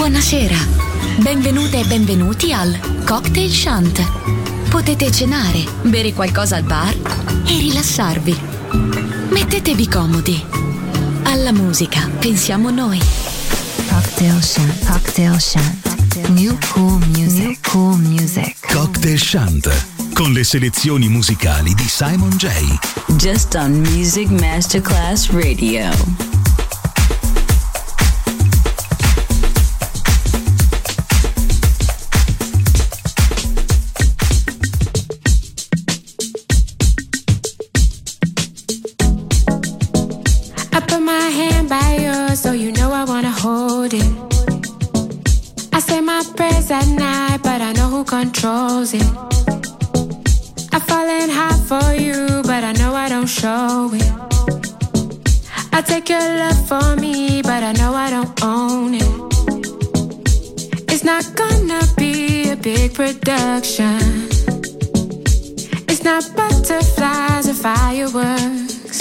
Buonasera, benvenute e benvenuti al Cocktail Shant. Potete cenare, bere qualcosa al bar e rilassarvi. Mettetevi comodi. Alla musica pensiamo noi. Cocktail Shant, Cocktail Shant. New cool music, new cool music. Cocktail Shant, con le selezioni musicali di Simon J. Just on Music Masterclass Radio. So you know I wanna hold it. I say my prayers at night, but I know who controls it. I'm falling hard for you, but I know I don't show it. I take your love for me, but I know I don't own it. It's not gonna be a big production. It's not butterflies or fireworks.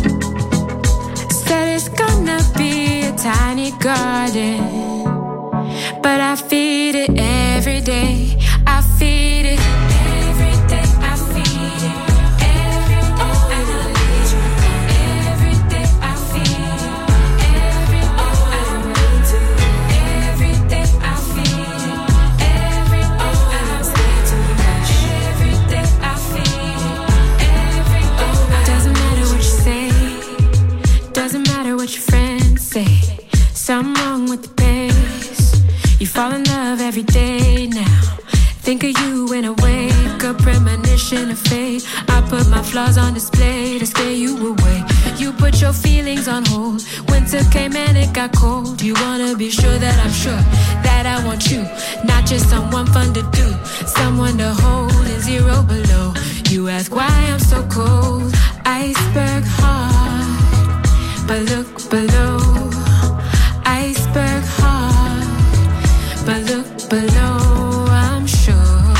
Said it's gonna be a tiny garden, but I feed it every day. I feed it every day. I feed it every day. Oh, and I need you every day. I feed it every day. Oh, and I need to every day. I feed it every day. Oh, and I'm scared to rush every day. I feed it every day. Oh, doesn't matter what you say. Doesn't matter what your friends say. Something wrong with the pace. You fall in love every day now. Think of you when I wake up, premonition of fate. I put my flaws on display to scare you away. You put your feelings on hold. Winter came and it got cold. You wanna be sure that I'm sure that I want you, not just someone fun to do, someone to hold and zero below. You ask why I'm so cold. Iceberg heart, but look below. Iceberg heart, but look below. I'm sure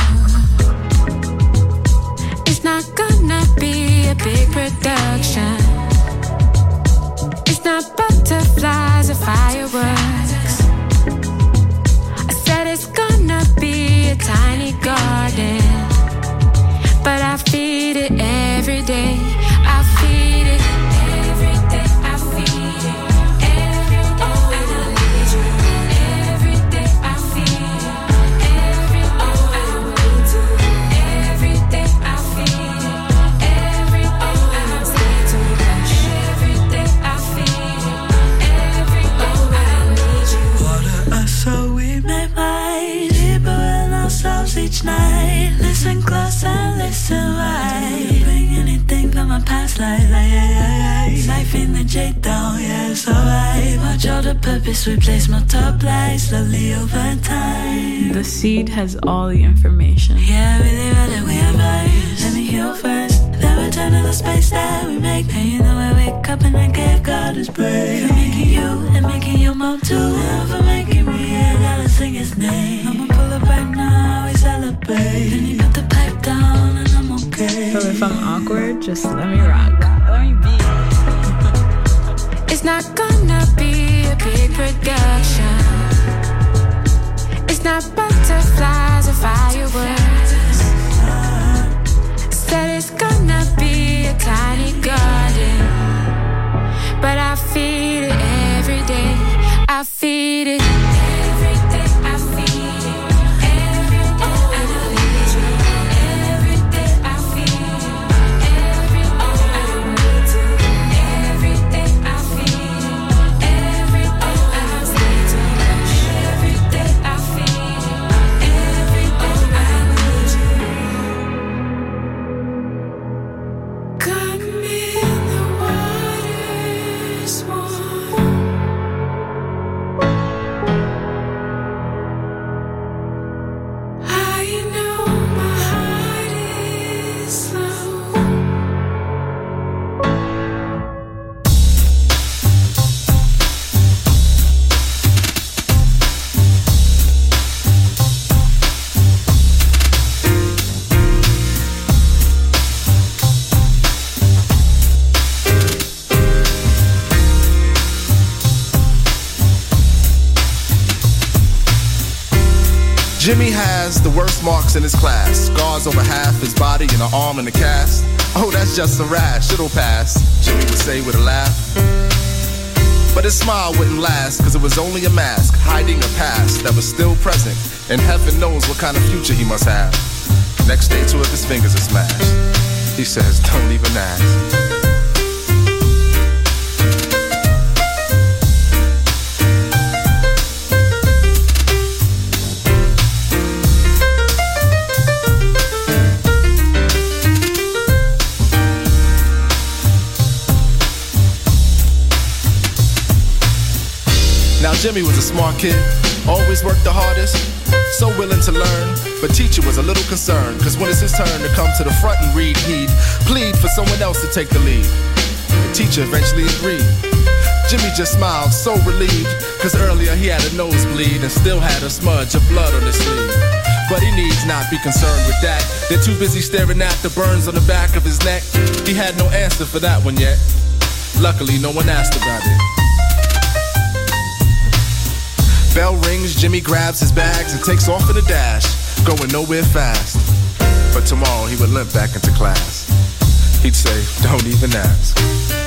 it's not gonna be a big production. It's not butterflies or fireworks. I said it's gonna be a tiny garden, but I feed it every day. I feed it every day. I feed it every day. Oh, and I need you every day. I feed it every day. Oh, and I need to every day. I feed it every day. Oh, and I'm scared to rush every day. I feed it every day. Oh, and I need you. Water us so we may might deeper in ourselves each night. Listen close and listen right. Bring anything from my past life, life in the J down, yeah, it's alright. Watch all the purpose we place my top lights slowly over time. The seed has all the information. Yeah, really rather we advise. Let me heal first, then return to the space that we make. And you know I wake up and I gave God his praise. For making you and making your mom too. And for making me, I gotta sing his name. I'ma pull up right now, we celebrate. Then you put the pipe down and I'm okay. So if I'm awkward, just let me rock. Let me be. It's not gonna be a big production. It's not butterflies or fireworks. Said it's gonna be a tiny garden, but I feed it every day. I feed it every day. I feed it every day. Oh, and I need you every day. I feed it every day. Oh, and I need to every day. I feed it every day. Oh, and I'm scared to rush every day. I feed it every day. Oh, and I need you. Got me in the water's warm. Jimmy has the worst marks in his class. Scars over half his body and an arm in a cast. Oh, that's just a rash, it'll pass, Jimmy would say with a laugh. But his smile wouldn't last, cause it was only a mask, hiding a past that was still present. And heaven knows what kind of future he must have. Next day, 2 of his fingers are smashed. He says, don't even ask. Now Jimmy was a smart kid, always worked the hardest, so willing to learn. But teacher was a little concerned, cause when it's his turn to come to the front and read, he'd plead for someone else to take the lead. The teacher eventually agreed. Jimmy just smiled, so relieved, cause earlier he had a nosebleed and still had a smudge of blood on his sleeve. But he needs not be concerned with that. They're too busy staring at the burns on the back of his neck. He had no answer for that one yet. Luckily, no one asked about it. Bell rings, Jimmy grabs his bags and takes off in a dash, going nowhere fast. But tomorrow he would limp back into class. He'd say, don't even ask.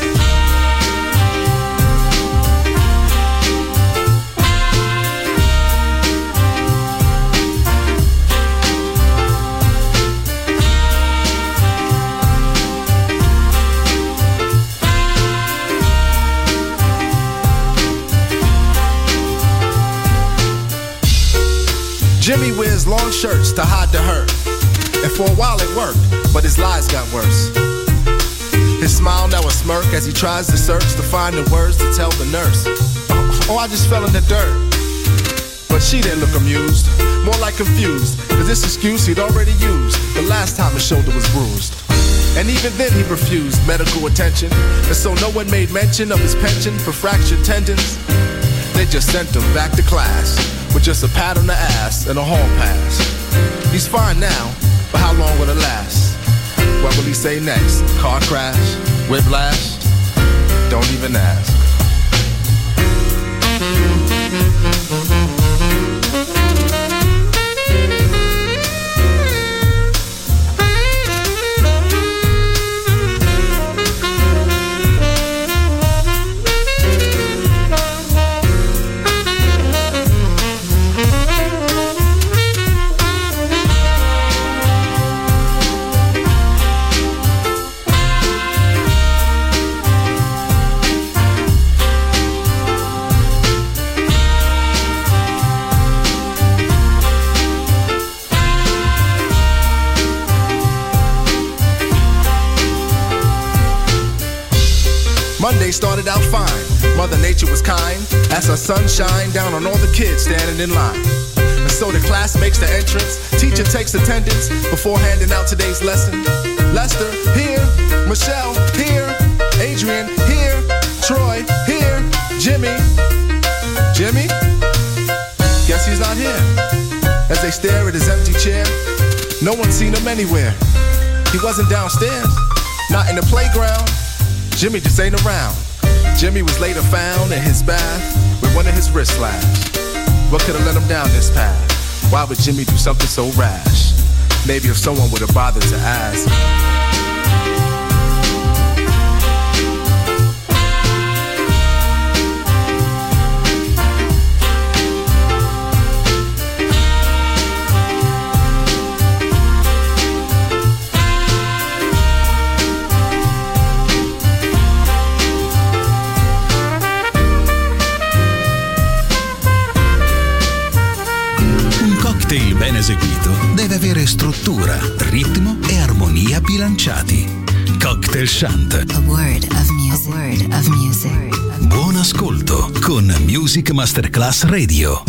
Jimmy wears long shirts to hide the hurt, and for a while it worked, but his lies got worse. His smile now a smirk as he tries to search to find the words to tell the nurse, oh, I just fell in the dirt. But she didn't look amused, more like confused, cause this excuse he'd already used the last time his shoulder was bruised. And even then he refused medical attention, and so no one made mention of his penchant for fractured tendons. They just sent him back to class with just a pat on the ass and a hall pass. He's fine now, but how long will it last? What will he say next? Car crash? Whiplash? Don't even ask. Monday started out fine. Mother Nature was kind as her sun shined down on all the kids standing in line. And so the class makes the entrance. Teacher takes attendance before handing out today's lesson. Lester, here. Michelle, here. Adrian, here. Troy, here. Jimmy. Jimmy? Guess he's not here. As they stare at his empty chair, no one's seen him anywhere. He wasn't downstairs, not in the playground. Jimmy just ain't around. Jimmy was later found in his bath with one of his wrists slashed. What could have led him down this path? Why would Jimmy do something so rash? Maybe if someone would have bothered to ask. Il ben eseguito deve avere struttura, ritmo e armonia bilanciati. Cocktail Shant. A word of music. A word of music. Buon ascolto con Music Masterclass Radio.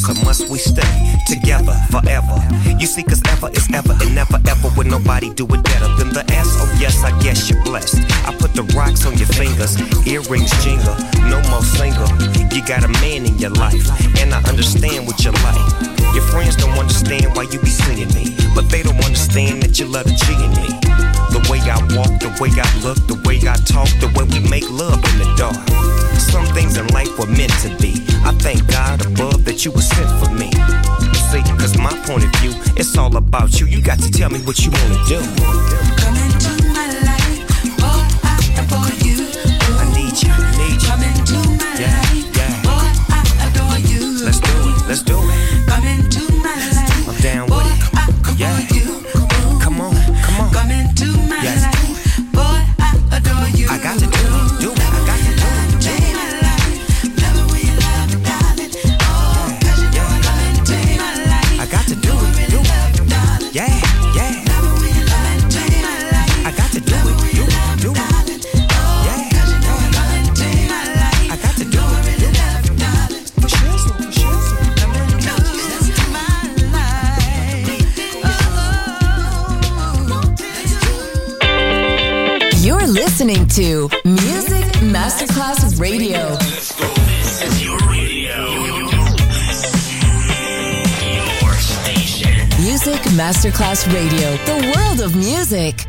us, or must we stay together forever? You see, cause ever is ever and never ever would nobody do it better than the S. Oh yes, I guess you're blessed. I put the rocks on your fingers, earrings jingle, no more single. You got a man in your life, and I understand what you like. Your friends don't understand why you be singing me, but they don't understand that you love the G in me. The way I walk, the way I look, the way I talk, the way we make love in the dark. Some things in life were meant to be. I thank God above that you were sent for me. See, cause my point of view, it's all about you. You got to tell me what you wanna do. Come into my life, boy, I adore you. I need you, need you. Come into my life, boy, I adore you. Let's do it, let's do it. Come into my life, I'm down boy, with it. I adore you. Come on, come on. Come into my life, boy, I adore you. I got to do it, do it. I got to do it. I got to do it, do it. Yeah, yeah. I got to do it, do it, do it. Yeah. I got to do it, do it. For sure, for sure. You're listening to Music Masterclass Radio. This is your radio. Your station. Music Masterclass Radio. The world of music.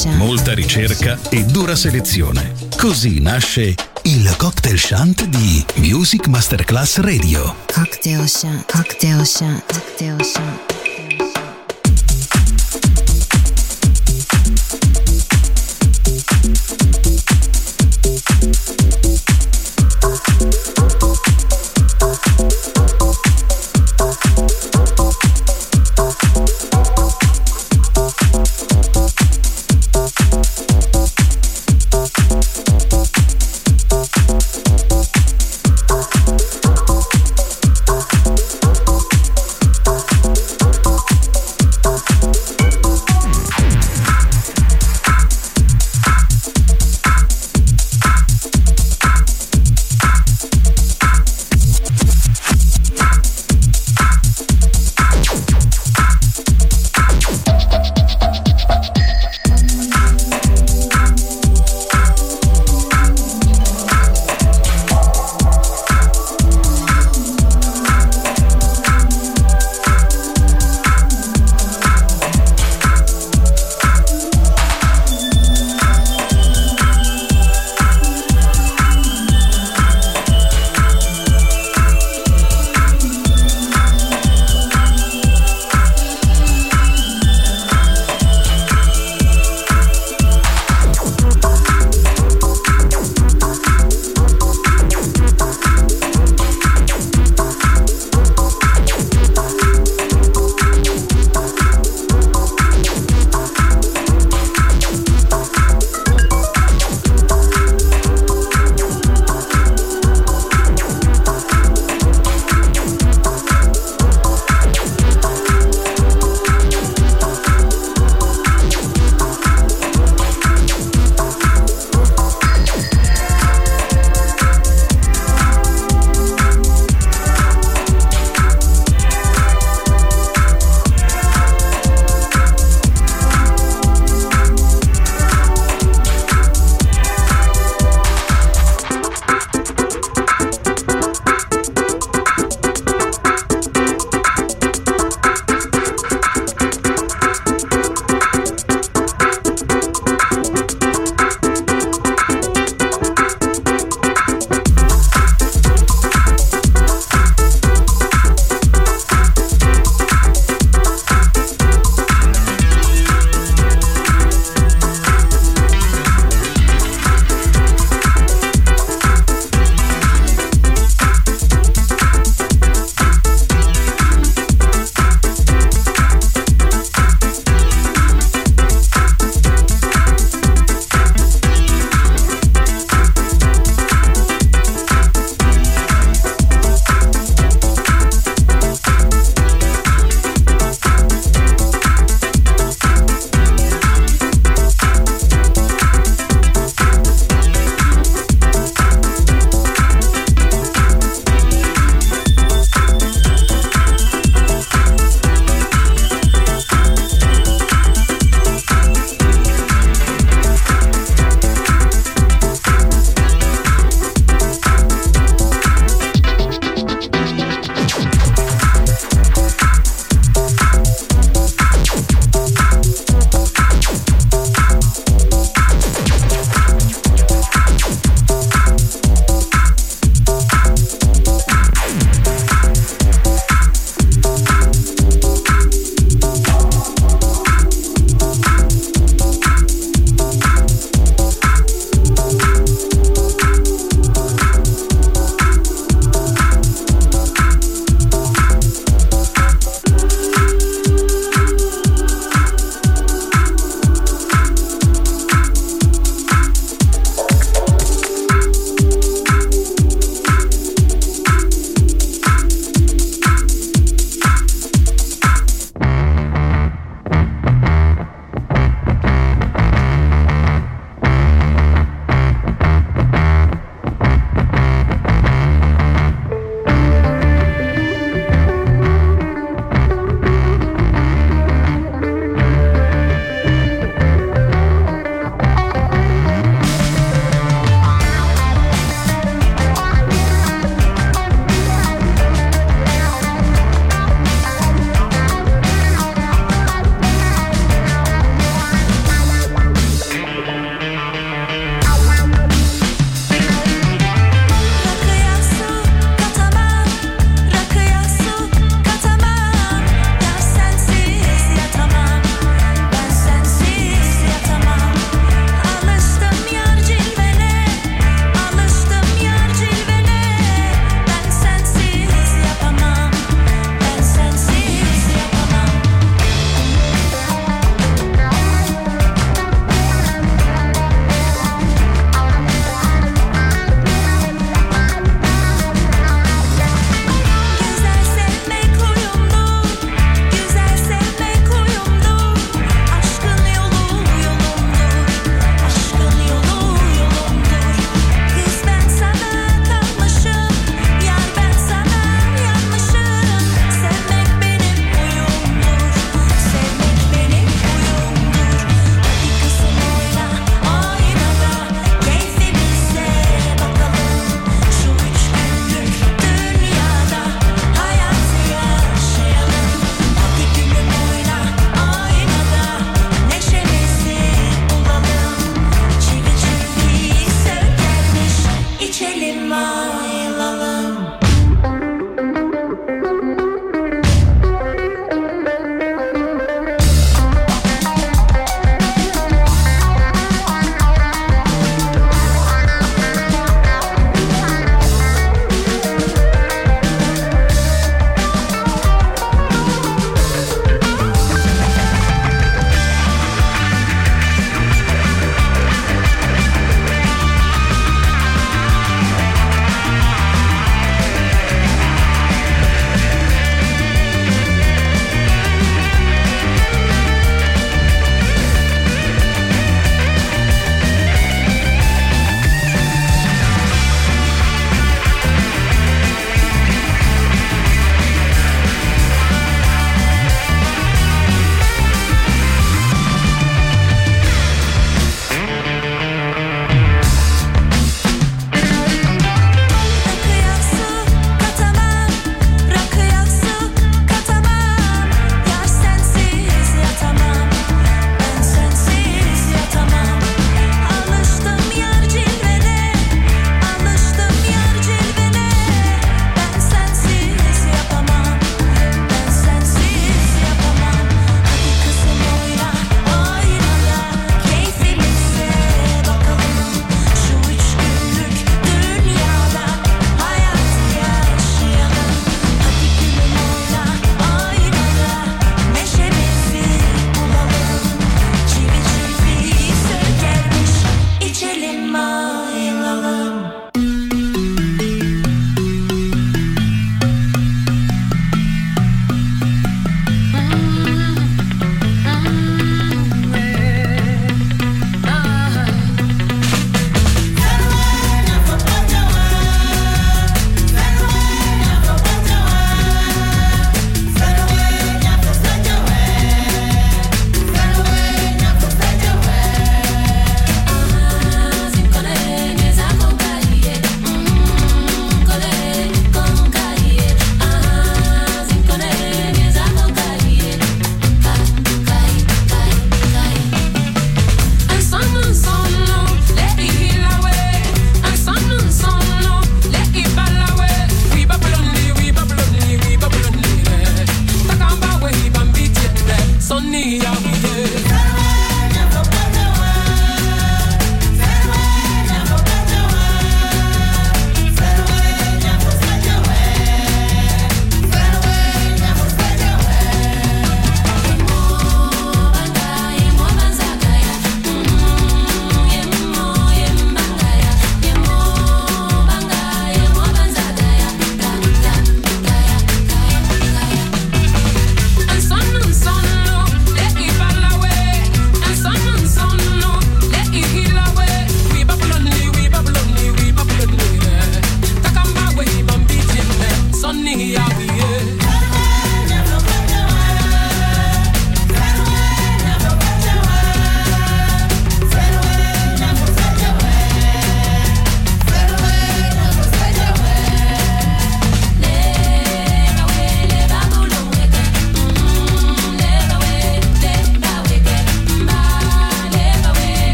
Chant. Molta ricerca e dura selezione. Così nasce il Cocktail Chant di Music Masterclass Radio. Cocktail Chant. Cocktail Chant. Cocktail Chant.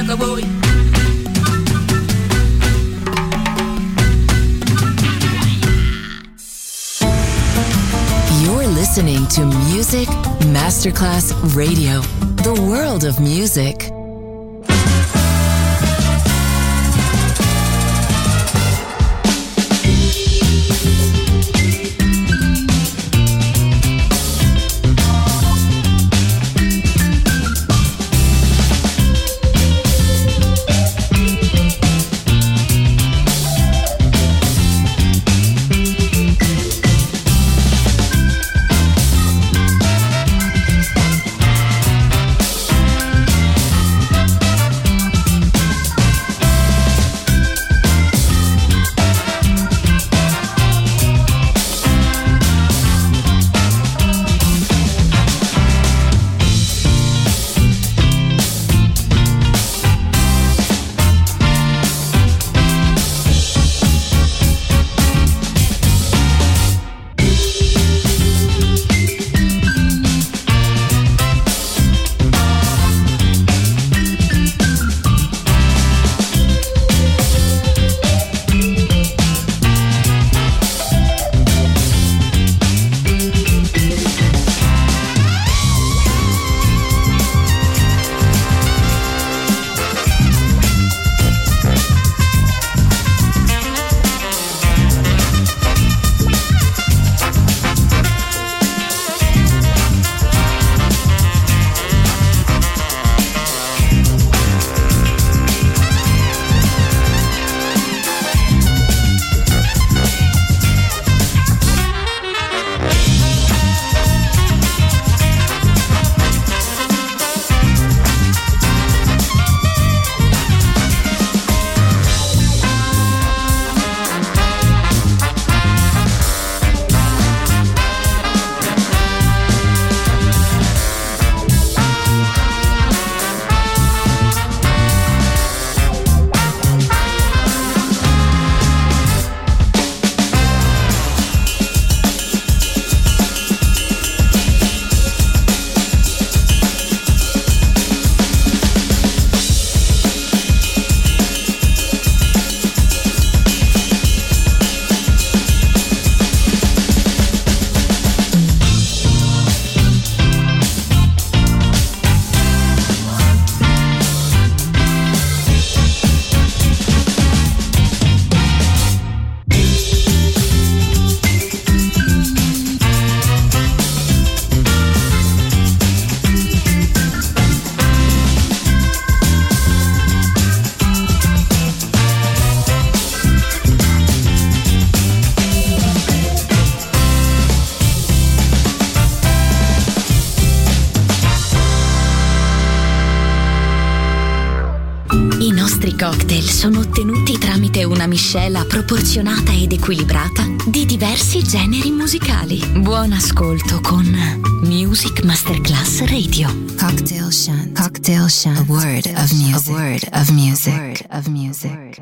Rockabouille. You're listening to Music Masterclass Radio, the world of music. Cocktail sono ottenuti tramite una miscela proporzionata ed equilibrata di diversi generi musicali. Buon ascolto con Music Masterclass Radio. Cocktail Shant. Cocktail Shant. A word of music. A word of music. A word of music.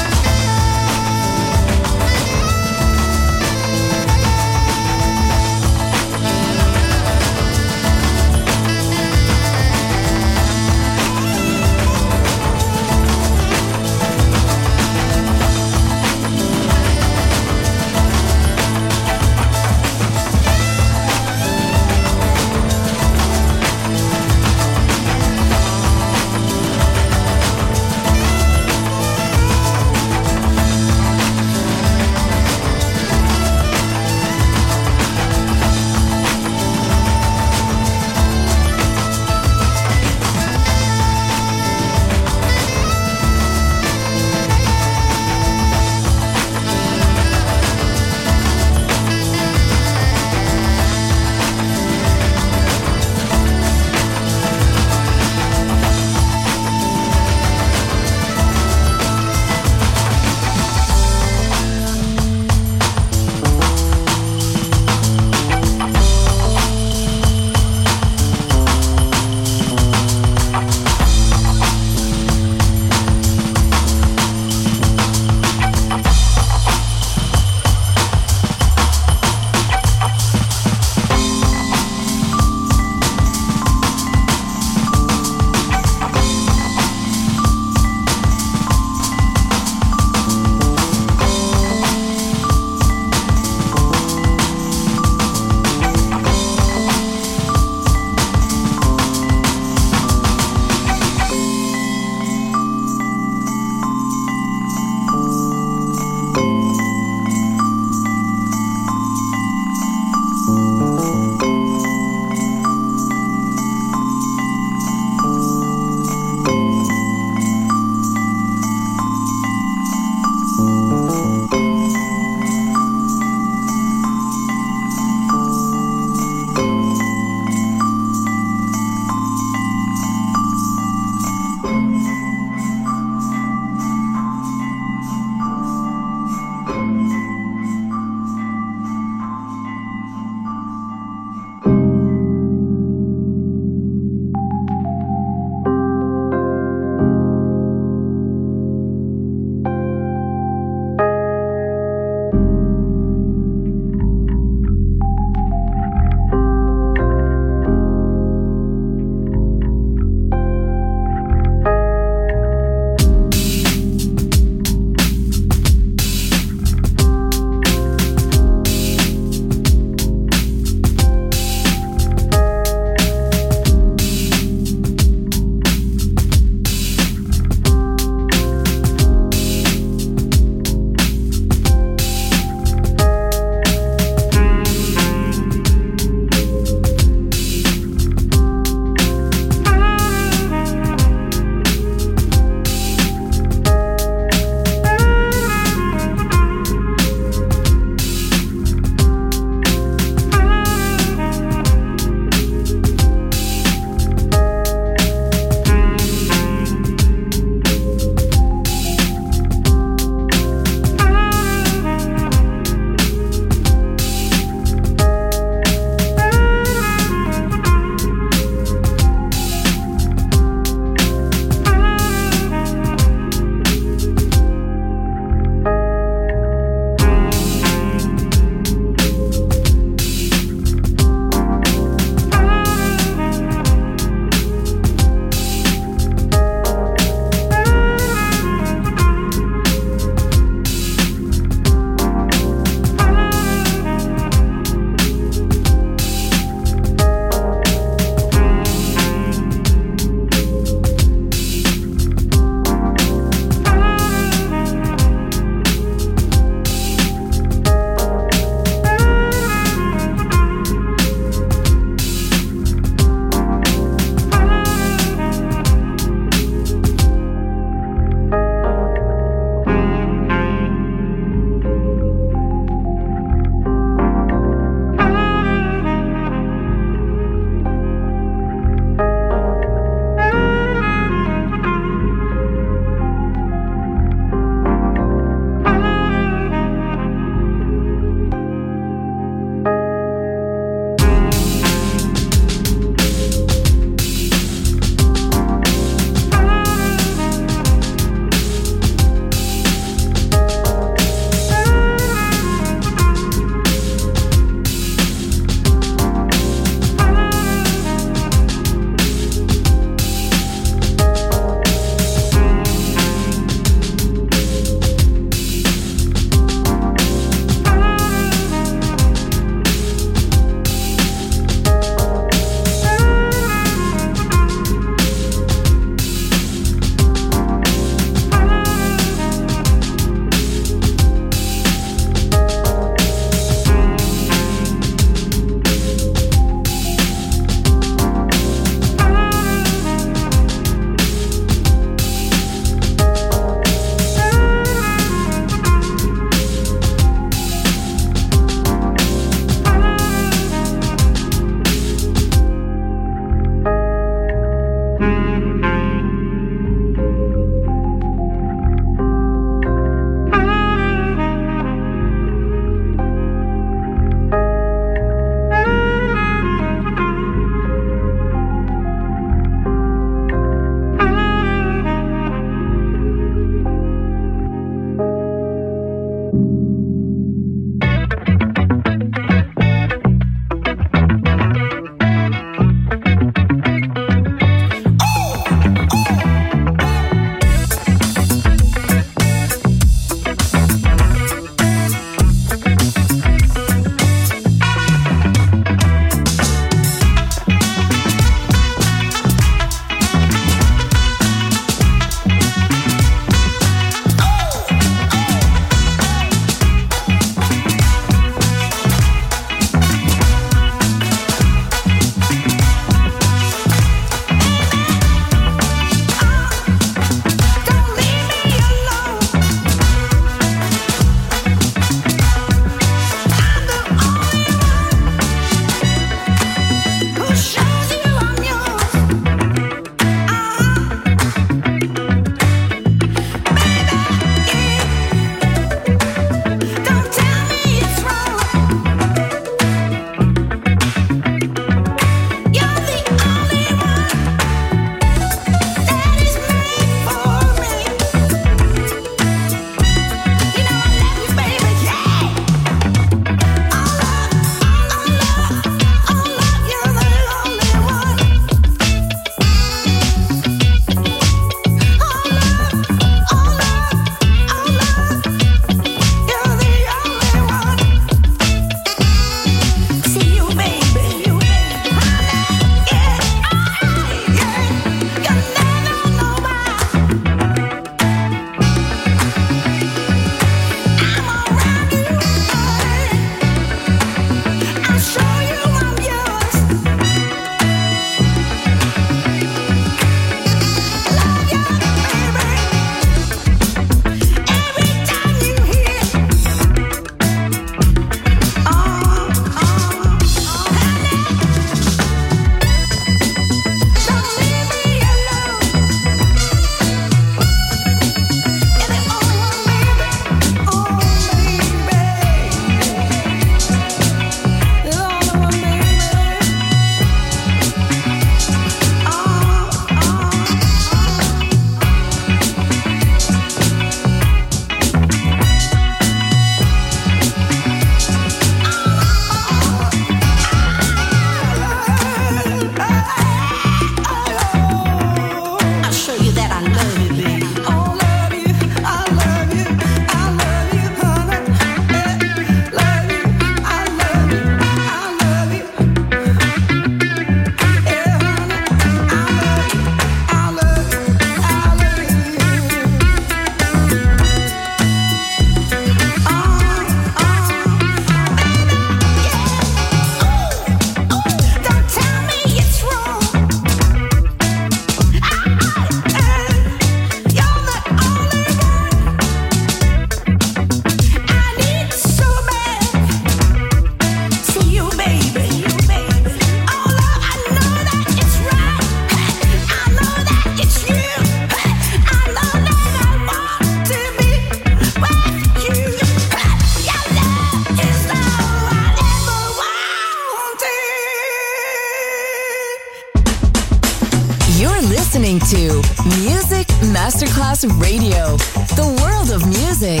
Masterclass Radio, the world of music.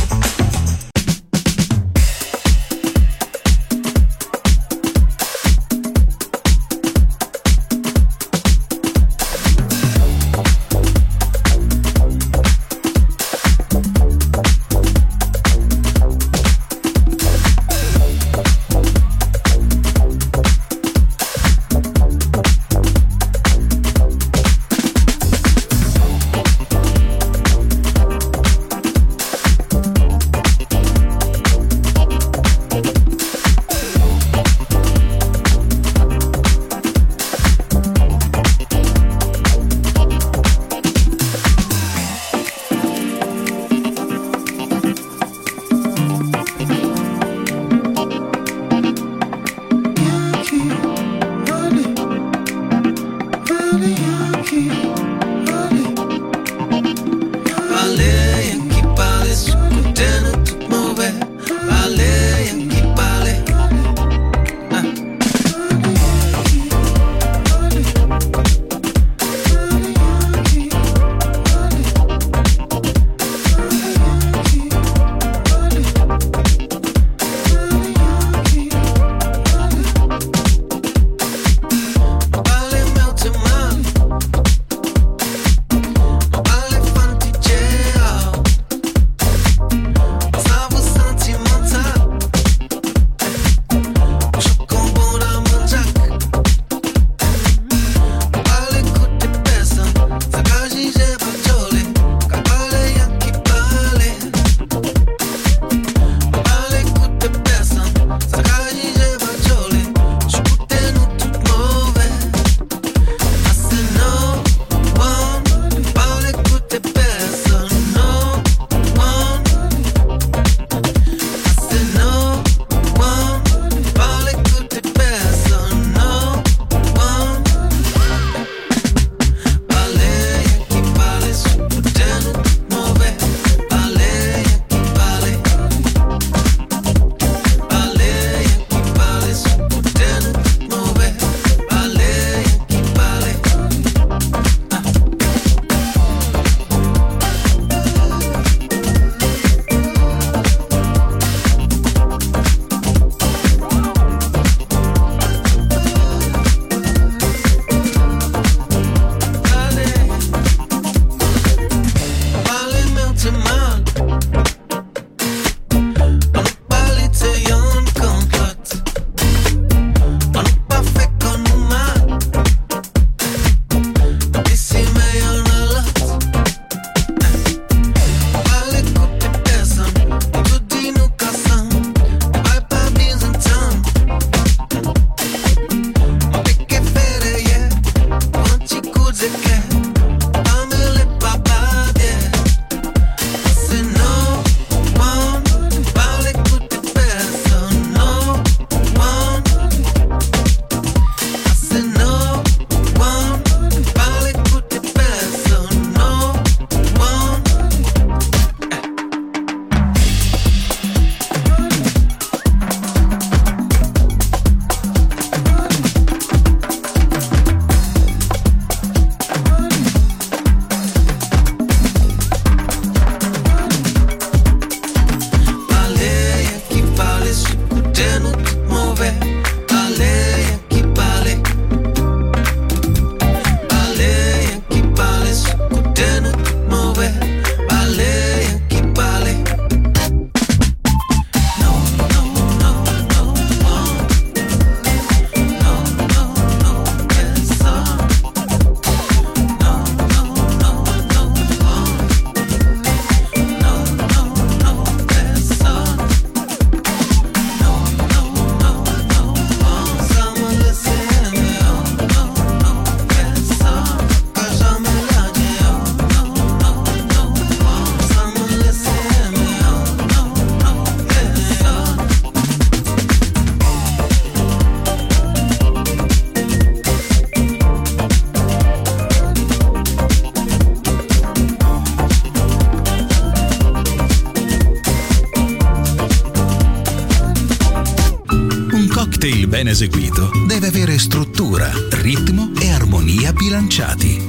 cocktail ben eseguito deve avere struttura, ritmo e armonia bilanciati.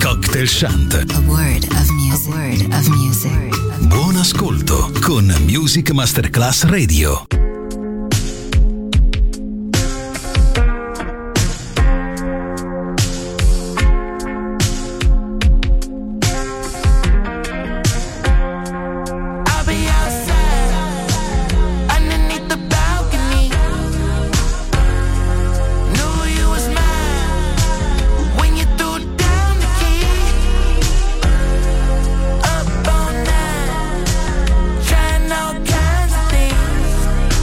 Cocktail Shant. A word of music. A word of music. Buon ascolto con Music Masterclass Radio. Trying all kinds of things.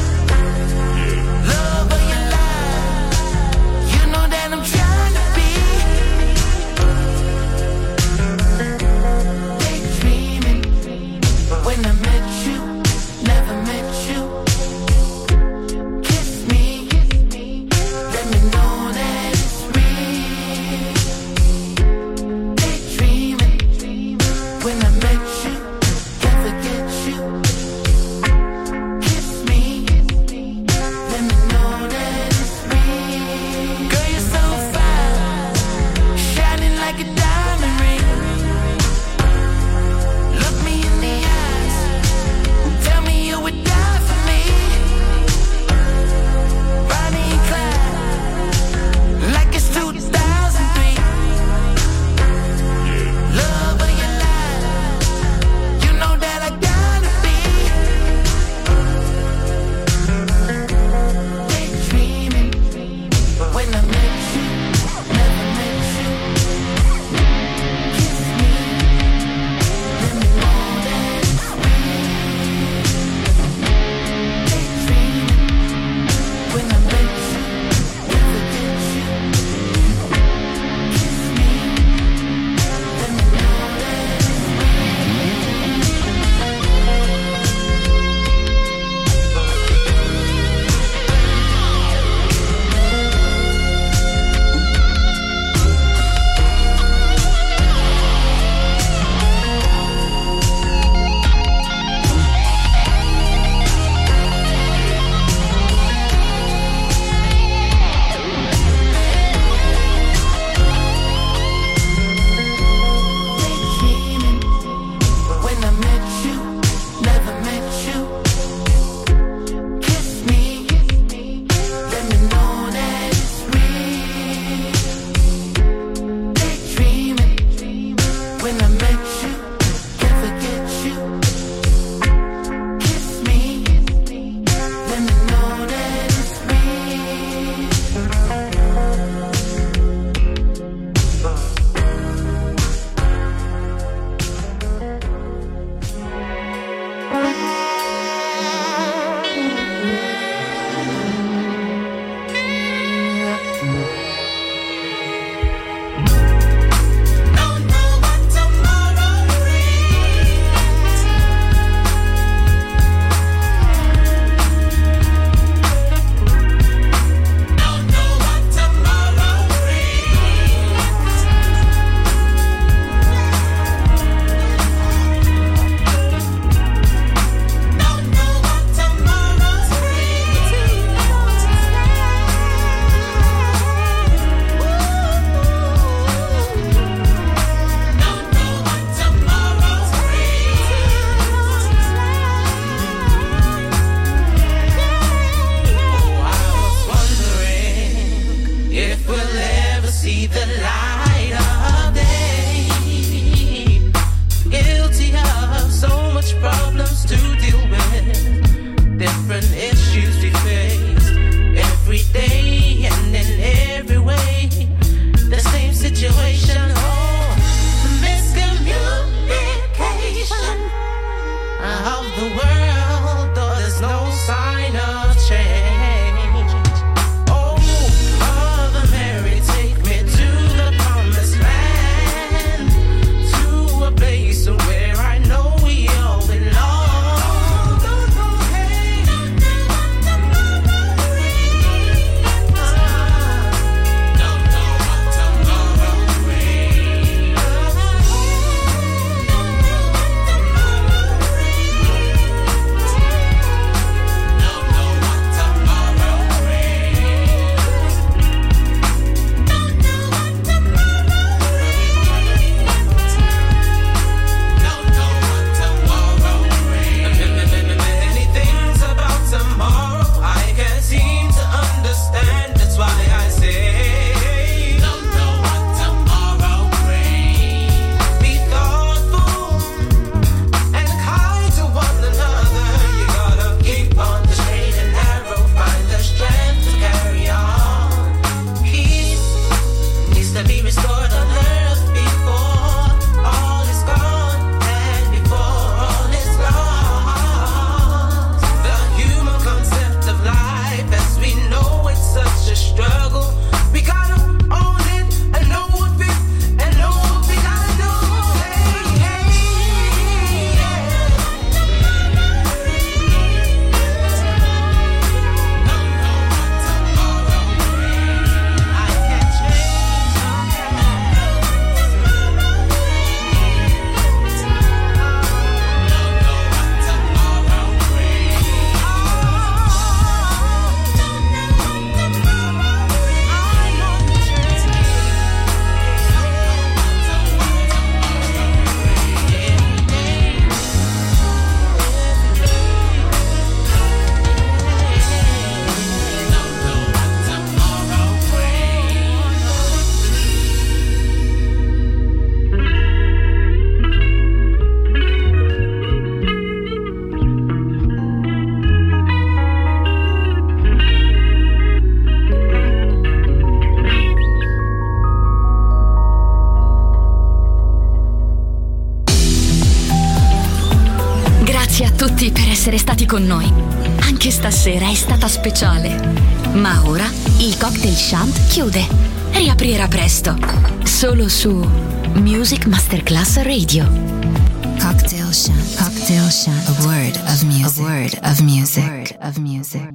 tutti per essere stati con noi. Anche stasera è stata speciale. Ma ora il Cocktail Shant chiude. Riaprirà presto. Solo su Music Masterclass Radio. Cocktail Shant. Cocktail Shant. A word of music. A word of music.